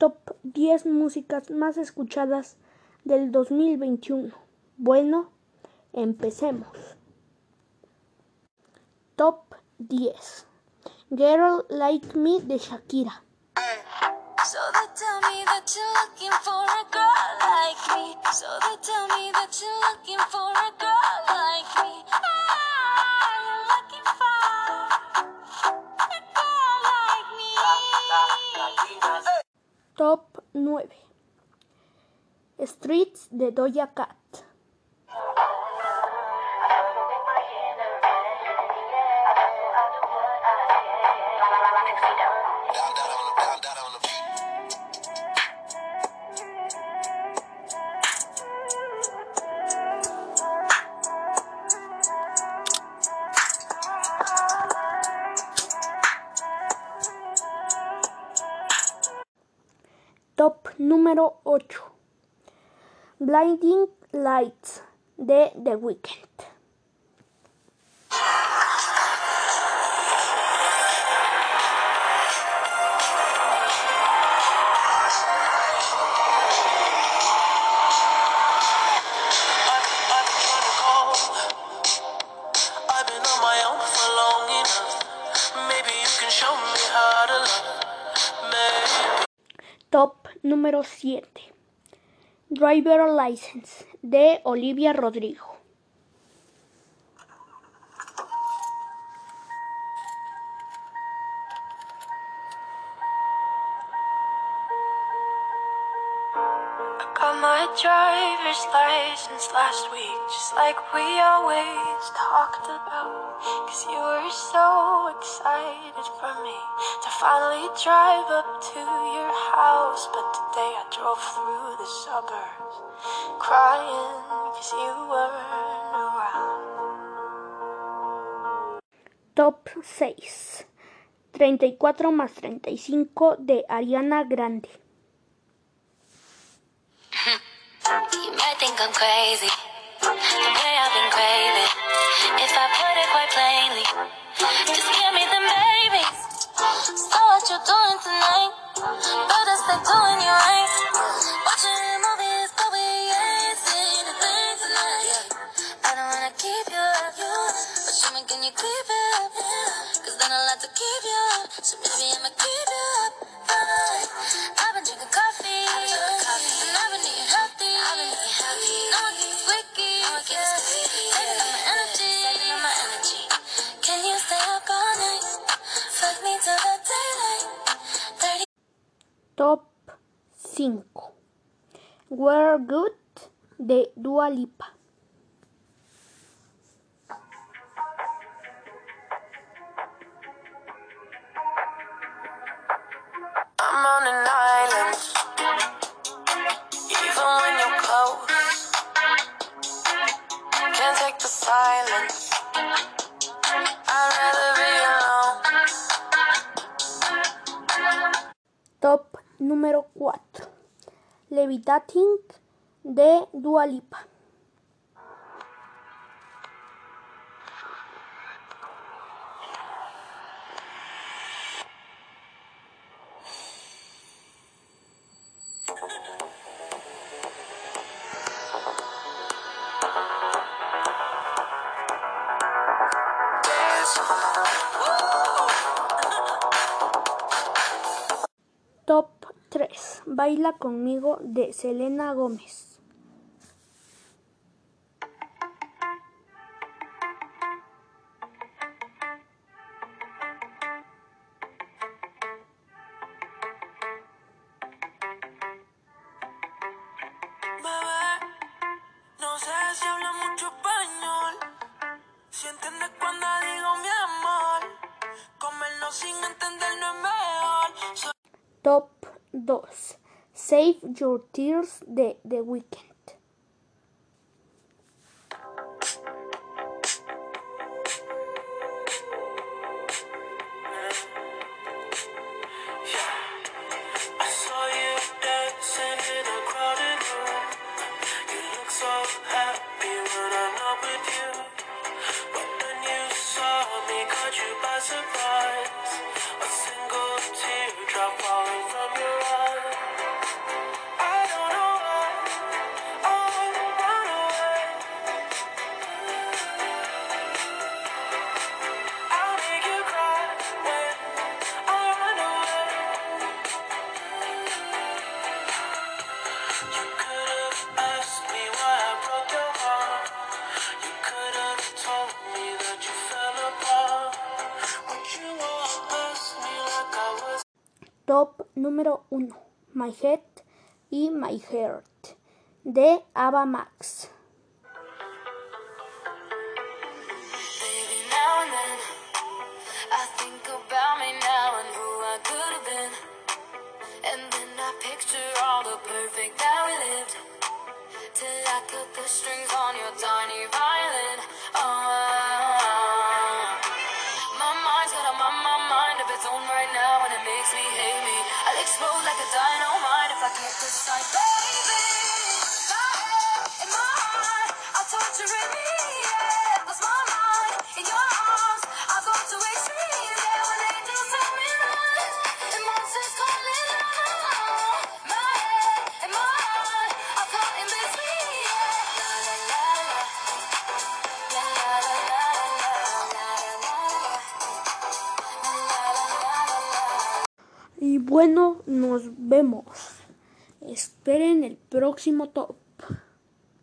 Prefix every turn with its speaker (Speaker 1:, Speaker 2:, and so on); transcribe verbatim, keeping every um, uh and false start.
Speaker 1: Top diez músicas más escuchadas del dos mil veintiuno. Bueno, empecemos. Top diez. Girl Like Me de Shakira.
Speaker 2: So they tell me that you're looking for a girl like me. So they tell me that you're looking for a girl like me. Ah, you're looking for a girl like me.
Speaker 1: Top nueve. Streets de Doja Cat. Top número ocho. Blinding Lights de The Weeknd. Top número siete. Driver License de Olivia Rodrigo.
Speaker 2: Got my driver's license last week, just like we always talked about. Cause you were so excited for me to finally drive up to your house. But today I drove through the suburbs, crying cause you weren't around.
Speaker 1: Top seis. treinta y cuatro más treinta y cinco de Ariana Grande.
Speaker 2: You might think I'm crazy, the way I've been craving. If I put it quite plainly, just give me them babies. So what you doing tonight? Better stay doing you right. Watching movies, but we ain't seen a thing tonight. I don't wanna keep you up, but you making you keep it up. Cause then I'll have to keep you up, so maybe I'ma keep you up. I've been drinking coffee, and I've been eating healthy. No one keeps wiki, saving up my energy, saving up my energy. Can you stay up all night? Fuck me till the daylight.
Speaker 1: Top cinco. We're Good de Dua Lipa.
Speaker 2: I'm on an island, even when you're close. Can't take the silence, I'd rather be alone.
Speaker 1: Top número cuatro. Levitating de Dua Lipa. Top tres. Baila conmigo de Selena Gómez.
Speaker 2: Bebé, no sé si habla mucho español. Si entiendes cuando digo mi amor, comernos sin entendernos es mejor. So
Speaker 1: Top dos. Save Your Tears de The Weeknd.
Speaker 2: I saw you dancing in a crowded room. You look so happy when I'm not with you. But then you saw me, caught you by surprise. A single teardrop falling from your eye. You could have asked me why I broke your heart. You could have told me that you fell apart. Would you have asked me like I was?
Speaker 1: Top número uno, My Head y My Heart, de Ava Max.
Speaker 2: Baby, now and then I think about me now and who I could have been. And then I picture all the perfect that we lived, till I cut the strings on your tiny violin. Oh, my mind's got a my, my mind of its own right now, and it makes me hate me. I'll explode like a dynamite if I can't decide, baby. My head and my heart are torturing me, yeah. Lost my mind in your arms, I'll go to extremes, yeah. When angels tell me lies and monsters call me love. My head and my heart are caught in between, yeah. La la la la, la la la la la, la la la la.
Speaker 1: Y bueno, nos vemos. Esperen el próximo top.